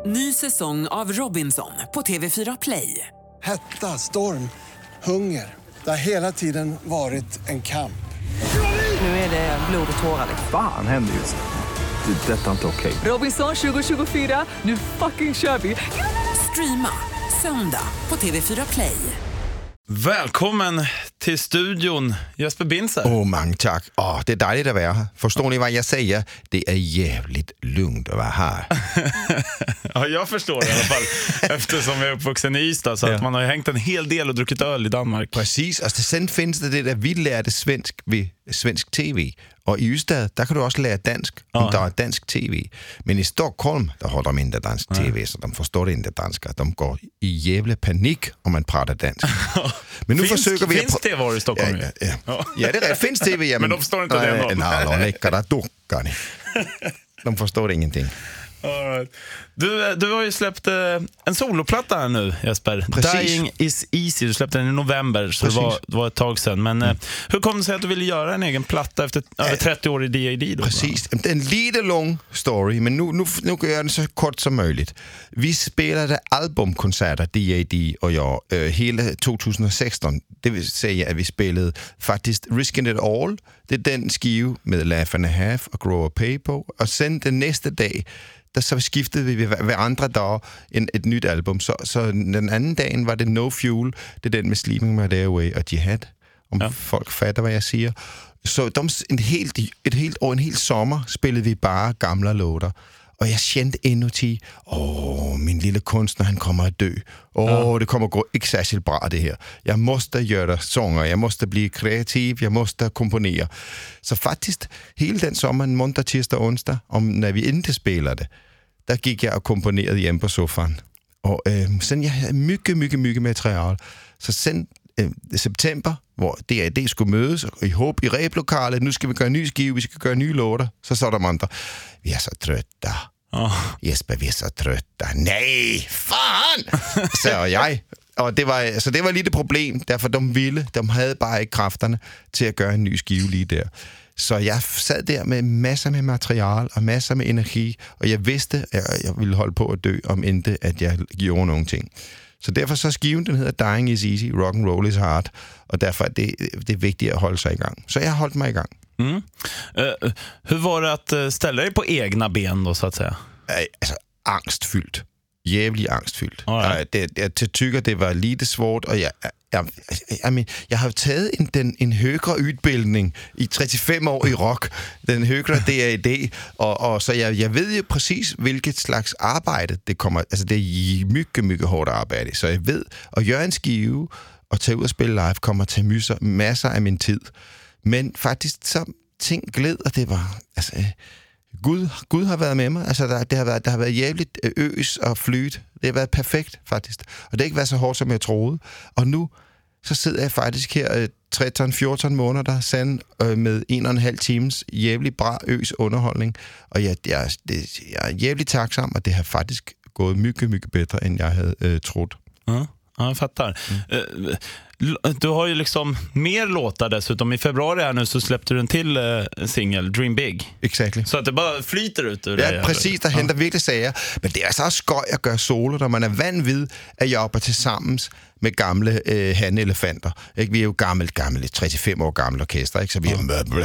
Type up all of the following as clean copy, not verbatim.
Ny säsong av Robinson på TV4 Play. Hetta, storm, hunger. Det har hela tiden varit en kamp. Nu är det blod och tårar. Fan händer just nu. Det. Detta är inte okej. Robinson 2024, nu fucking kör vi. Streama söndag på TV4 Play. Välkommen till studion, Jesper Binzer. Mange tack. Det är dejligt att vara här. Förstår ni vad jag säger? Det är jävligt lugnt att vara här. Ja, jag förstår det i alla fall. Eftersom jag är uppvuxen i Ystad. Så att man har ju hängt en hel del och druckit öl i Danmark. Precis, och sen finns det där vi lärde svensk vid svensk tv. Och i Ystad, där kan du också lära dansk om det är dansk tv. Men i Stockholm, där har de inte dansk tv, så de förstår inte danska. De går i jävla panik om man pratar dansk. Men nu försöker vi... Finns det var i Stockholm? Ja, det är rätt. Finns tv, ja, men de förstår inte det ändå. Nej, läckar där duckar ni. De förstår ingenting. All right. Du har ju släppt en soloplatta här nu, Jesper. Precis. Dying is easy. Du släppte den i november, så det var ett tag sedan. Men hur kom det sig att du ville göra en egen platta efter över 30 år i D.A.D. då? Precis. Det är en lite lång story, men nu kan jag göra den så kort som möjligt. Vi spelade albumkonserter, D.A.D. och jag, hela 2016. Det vill säga att vi spelade faktiskt Risking It All. Det är den skive med Laugh and a Half och Grow a Pay på. Och sen den nästa dag, där så skiftede vi hver andre dag et nyt album. Så den anden dagen var det No Fuel, det er den med Sleeping My Day Away og Jihad, om folk fatter, hvad jeg siger. Så et helt år, en hel sommer, spillede vi bare gamle låter. Og jeg kände inuti, min lille kunstner, han kommer at dø. Det kommer gå ikke særskilt bra det her. Jeg måste göra sånger, jeg måste blive kreativ, jeg måste komponere. Så faktisk, hele den sommer, måndag, tirsdag og onsdag, når vi inte spelade, der gik jeg og komponerede hjemme på sofaen. Og sen jeg havde mycket materiale. Så sen september, hvor D.A.D. skulle mødes og i håb i replokalet, nu skal vi gøre ny skive, vi skal gøre nye låter. Så sa de andre, vi er så trötta. Jesper, vi er så trötta. Nej, fan! Sagde jeg. Og det var lidt et problem, derfor de havde bare ikke kræfterne til at gøre en ny skive lige der. Så jeg sad der med masser med materiale og masser med energi, og jeg vidste, at jeg ville holde på at dø, om ikke at jeg gjorde nogle ting. Så derfor så skiven, den hedder Dying is easy, rock and roll is hard, og derfor er det vigtigt at holde sig i gang. Så jeg har holdt mig i gang. Hur var det att ställa dig på egna ben då, så att säga? Altså, angstfyldt. Jävligt angstfyldt. Jeg tykker, det var lite svårt, og jeg har taget en højere udbildning i 35 år i rock, den højere D.A.D., og så jeg ved jo præcis, hvilket slags arbejde det kommer, altså det er mycket hårdt arbejde, så jeg ved, at gøre en skive og tage ud og spille live kommer til masser af min tid, men faktisk så ting gled, og det var, altså... Gud har været med mig. Altså, der har været jævligt øs og flyt. Det har været perfekt, faktisk. Og det har ikke været så hårdt, som jeg troede. Og nu, så sidder jeg faktisk her 13-14 måneder sand med 1,5 times jævligt bra øs underholdning. Og jeg er jævligt takksam, og det har faktisk gået mycket bedre, end jeg havde troet. Ja, jag fattar. Du har ju liksom mer låtar dessutom. I februari här nu så släppte du en till singel, Dream Big. Exactly. Så att det bara flyter ut ur det. Ja, præcis. Der henter virkelig sager. Men det er så også skøj at gøre solo, når man er vant ved at jobbe til sammen med gamle hanelefanter. Ikke? Vi er jo gammelt, 35 år gamle orkester, ikke? Så vi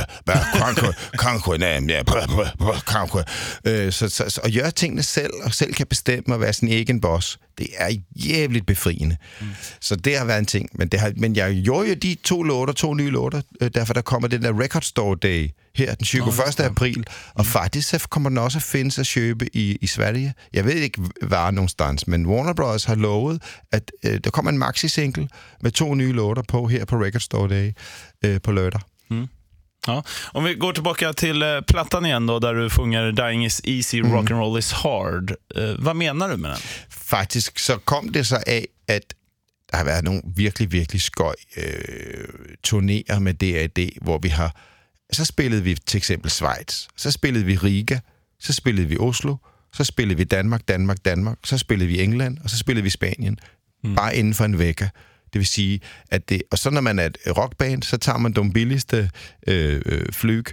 er så at gøre tingene selv, og selv kan bestemme at være sin egen boss, det er jævligt befriende. Så det har været en ting. Men jeg gjorde jo de 2 nye låter, derfor der kommer den der Record Store Day her den 21. april, og faktisk så kommer den også at findes at købe i Sverige. Jeg ved ikke, var någonstans, men Warner Bros. Har lovet, at der kommer en maxi-single med 2 nye låter på her på Record Store Day på lørdag. Ja. Om vi går tillbaka till plattan igen då, där du sjunger Dying is easy, rock and roll is hard. Vad menar du med den? Faktisk så kom det så af, at der har været nogle virkelig skøj turnéer med D.A.D., hvor vi har... Så spillede vi til eksempel Schweiz, så spillede vi Riga, så spillede vi Oslo, så spillede vi Danmark, så spillede vi England, og så spillede vi Spanien. Bare inden for en vecka. Det vil sige, at det... Og så når man er et rockband, så tager man de billigste flyg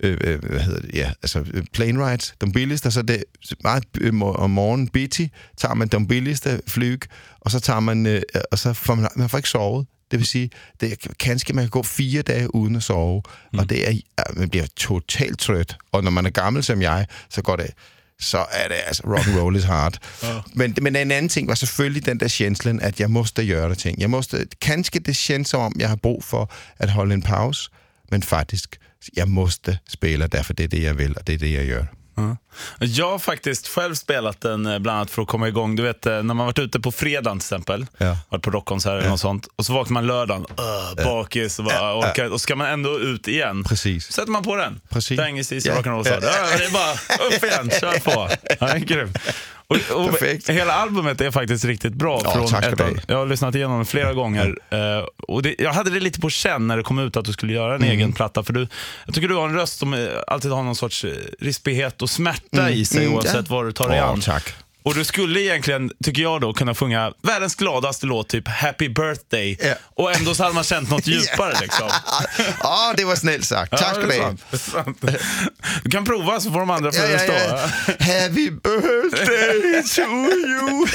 plane rides, de billigste, så det meget om morgenen bitti, tager man de billigste flyg, og så tager man, og så får man får ikke sovet. Det vil sige, kanskje man kan gå 4 dage uden at sove, og det er, man bliver totalt trøt, og når man er gammel som jeg, så er det altså rock and roll is hard. Men en anden ting var selvfølgelig den der kjenslen, at jeg måste gøre ting. Kanskje det känns som om jeg har brug for at holde en pause, men faktisk, jag måste spela därför det är det jag vill och det är det jag gör. Jag har faktiskt själv spelat den bland annat för att komma igång. Du vet, när man varit ute på fredagen till exempel, varit på rockkonsert eller något sånt, och så vaknar man lördagen, bakis och bara orkar, och ska man ändå ut igen. Precis. Sätter man på den. Precis. Fängelsevis rock'n'roll. Det är bara upp igen, kör på. Ja, det är grymt. Och hela albumet är faktiskt riktigt bra. Jag har lyssnat igenom det flera gånger. Och jag hade det lite på känn när det kom ut att du skulle göra en egen platta. För jag tycker du har en röst som alltid har någon sorts rispighet och smärta i sig oavsett vad du tar dig an. Tack. Och du skulle egentligen, tycker jag då, kunna sjunga världens gladaste låt, typ Happy Birthday. Och ändå så hade man känt något djupare liksom. Ja, det var snällt sagt. Tack för det. Du kan prova så får de andra förstå. Happy birthday to you.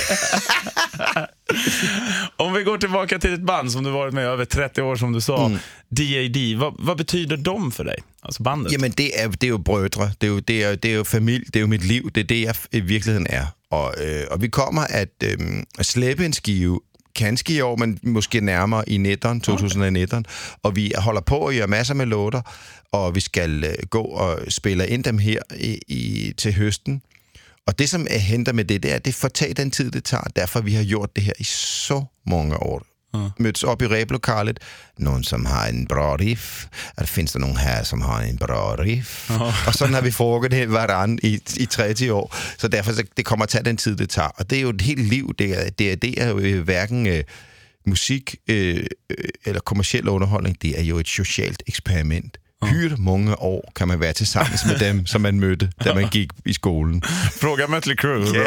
Om vi går tillbaka till ett band som du varit med över 30 år, som du sa, D.A.D. Vad betyder de för dig? Alltså bandet? Jamen det är ju brödre, det är ju familj, det är ju mitt liv, det är det jag i verkligheten är. Och vi kommer att släppa en skive kanske i år, men måske närmare i 2019, och vi håller på att göra massor med låtar, och vi ska gå och spela in dem här till hösten. Och det som händer med det är att det får ta den tid det tar, därför vi har gjort det här i så många år. Möts upp i replokalet, någon som har en bra riff, finns det någon här som har en bra riff, och så har vi frågat varann i 30 år, så därför så det kommer att ta den tid det tar, och det är ju ett helt liv, det är ju varken musik eller kommersiell underhållning, det är ju ett socialt experiment. Hur många år kan man vara tillsammans med dem som man mötte där man gick i skolan? Fråga Mötley Crüe.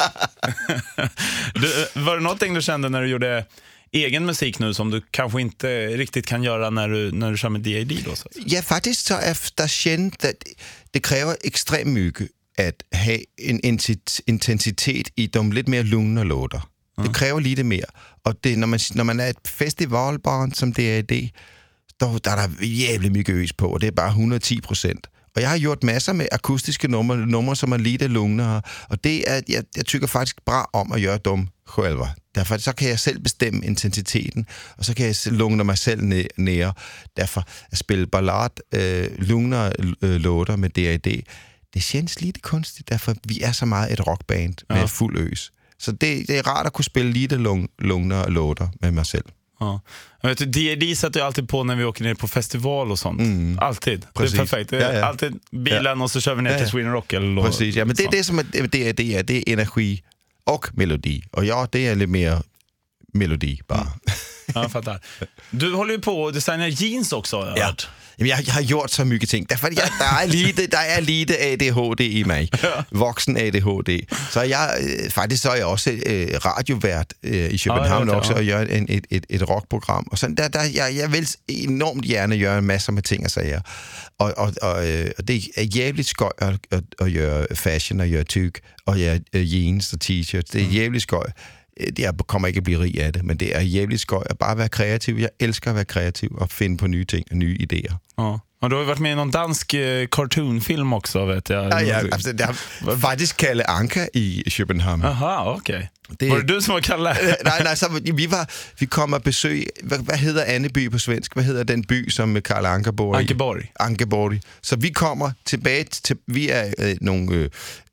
Var det någonting du kände när du gjorde egen musik nu som du kanske inte riktigt kan göra när du kör med D.A.D. då? Så? Ja, faktiskt så efter känt att det kräver extremt mycket att ha en intensitet i de lite mer lugna låtar. Det kräver lite mer. Och det, när man är ett festivalband som D.A.D., där är det jävligt mycket ös på, och det är bara 110%. Och jag har gjort massor med akustiska nummer som är lite lugnare, och det är, jag tycker faktiskt bra om att göra dem själva. Därför så kan jag själv bestämma intensiteten, och så kan jag lugna mig själv ner. Därför att spela ballad, lugnare låtar med D.A.D., det känns lite konstigt, därför att vi är så meget ett rockband med full ös. Så det är rart att kunna spela lite lugnare låtar med mig själv. Ja. Jag vet, D.A.D. sätter jag alltid på när vi åker ner på festival och sånt. Alltid. Precis. Det är perfekt. Det är alltid bilen och så kör vi ner till Sweden Rock eller precis. Ja, men det är det som är D.A.D. Det är energi och melodi. Och ja, det är lite mer melodi bara. Ja, jag fattar. Du håller ju på att designa jeans också. Jag har gjort så mycket ting. Därför der är lite ADHD i mig. Vuxen ADHD. Så faktiskt så är jag också radiovært i København också och gör ett rockprogram. Och sen jag vill enormt gärna göra en massa med ting och säga. Och det är jävligt skoj att göra fashion och göra tyg och göra jeans och t-shirts. Det är jävligt skoj. Jag kommer ikke at blive rig af det, men det er jävligt skoj at bare være kreativ. Jeg elsker at være kreativ og finde på nye ting og nye idéer. Ja. Och du har varit med i någon dansk cartoonfilm också, vet jag. Ja, alltså, det har faktiskt Kalle Anka i København. Aha, okej. Var det du som var Kalle? Nej, så vi kom og besøg. Hvad hedder Anneby på svensk? Hvad hedder den by, som Kalle Anka bor i? Ankeborg. Så vi kommer tilbage til, vi er nogle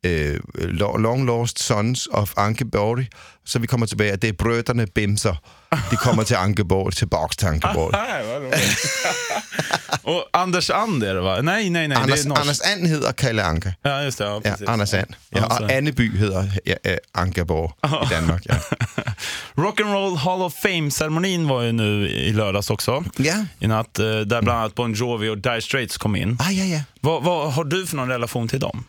long lost sons of Ankeborg. Så vi kommer tilbage, og det er brødrene Bimser. De kommer till Ankeborg, tillbaks till Ankeborg. Och Anders And är det, va? Nej. Anders And heter Kalle Anka. Ja, just det. Ja, precis. Ja, Anders And. Ja, och Anneby heter Ankeborg i Danmark. Ja. Rock'n'Roll Hall of Fame-ceremonin var ju nu i lördags också. Ja. I natt, där bland annat Bon Jovi och Dire Straits kom in. Ja. Vad har du för någon relation till dem?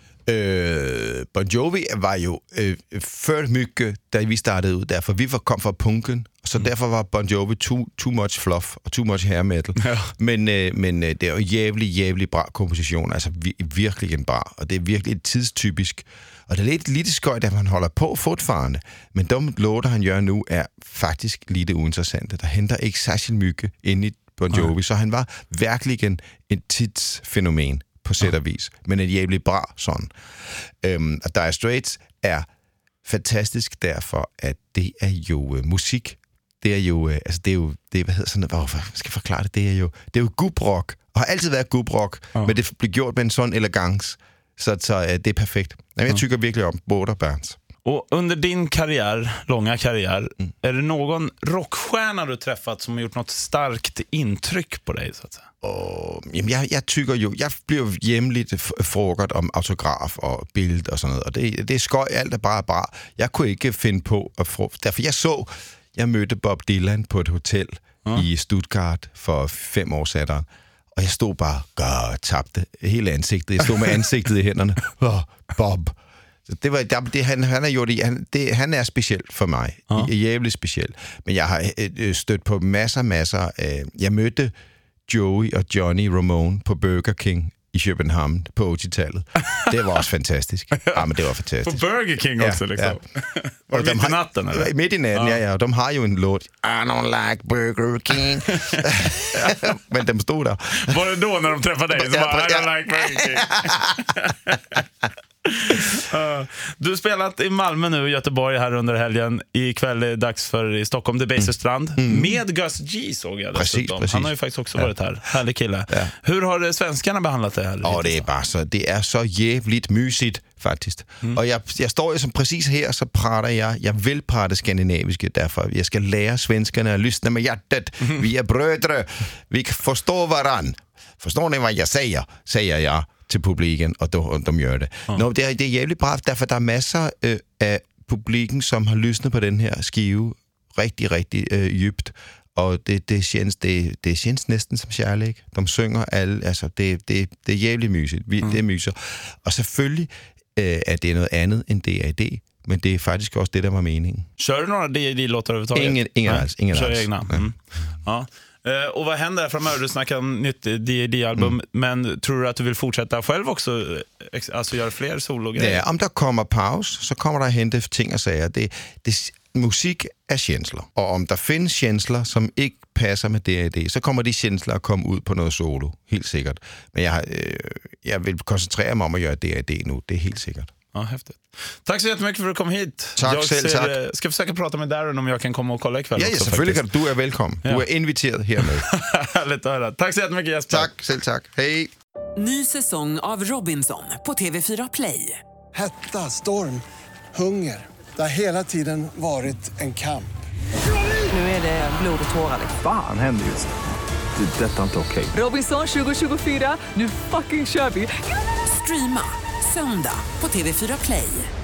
Bon Jovi var ju för mycket, da vi startede ud, derfor vi kom fra punken, og så därför var Bon Jovi too much fluff och too much hair metal. Ja. Men det är ju jävligt bra komposition, alltså verkligen bra, och det är verkligen tidstypisk. Och det är lite skojt att man håller på fortfarande, men de låtar han gör nu är faktiskt lite ointressanta. Det händer inte särskilt mycket in i Bon Jovi, så han var verkligen en tidsfenomen på sätt och vis, men en jävligt bra sån. Att Dire Straits är fantastisk därför att det är ju musik. Det är ju, alltså det vad heter sådan, varför ska jag förklara det? Det är ju gubbrock, och har alltid varit gubbrock, men det blir gjort med en sån elegans, så det är perfekt. Jag tycker verkligen om båda bands. Och under din långa karriär, är det någon rockstjärna du träffat som har gjort något starkt intryck på dig, så att säga? Jag tycker ju, jag blir jämligt frågat om autograf och bild och sånt, och det är skoj, allt är bara bra. Jag kunde inte finna på att därför jag mötte Bob Dylan på ett hotell i Stuttgart för 5 år sedan. Och jag stod bara tappade hela ansiktet. Jag stod med ansiktet i händerna. Bob. Det var han är speciell för mig. Jävligt speciell. Men jag har stött på massor. Jag mötte Joey och Johnny Ramone på Burger King i Köpenhamn på 80-talet. Det var också fantastiskt. Ja, men det var fantastiskt. På Burger King också, liksom. Ja. Var det mitt i natten, eller? Mitt i natten, ja. De har ju en låt, I don't like Burger King. Men de stod där. Var det då när de träffade dig? Så bara, I don't like Burger King. Du har spelat i Malmö nu, Göteborg här under helgen. Ikväll är det dags för i Stockholm, The Baserstrand med Gus G, såg jag. Precis. Han har ju faktiskt också varit här. Härlig kille. Ja. Hur har svenskarna behandlat det här? Ja, det är så jävligt mysigt faktiskt. Och jag står ju som precis här, så pratar jag vill prata skandinaviska, därför jag ska lära svenskarna att lyssna med hjärtat. Vi är bröder, vi förstår varann. Förstår ni vad jag säger jag till publiken, och de gör det. Det är jävligt bra, därför det är massor av publiken som har lyssnat på den här skive riktigt djupt, och det känns nästan som kärlek. De synger alla, alltså det är jävligt mysigt. Det är mysigt. Och selvfølgelig är det något annat än D.A.D., men det är faktiskt också det där var meningen. Kör du några D.A.D.-låtar överhuvudtaget? Ingen alls. Kör egna. Ja. Och vad händer framöver? Du snackar om nytt D.A.D.-album, men tror du att du vill fortsätta själv också? Alltså göra fler sologrejer? Ja, om det kommer paus, så kommer det att hända ting och säga. Musik är känslor, och om det finns känslor som inte passar med D.A.D., så kommer de känslor att komma ut på något solo, helt säkert. Men jag vill koncentrera mig om att göra D.A.D. nu, det är helt säkert. Ja, häftigt. Tack så jättemycket för att du kom hit. Tack. Ska försöka prata med Darren om jag kan komma och kolla ikväll. Ja, selvfølgelig. Du är välkommen. Du är inviterad här med. Härligt att höra. Tack så jättemycket, Jesper. Tack. Hej. Ny säsong av Robinson på TV4 Play. Hetta, storm, hunger. Det har hela tiden varit en kamp. Nu är det blod och tårar. Fan händer just det. Det är detta inte okej. Robinson 2024, nu fucking kör vi. Streama söndag på TV4 Play.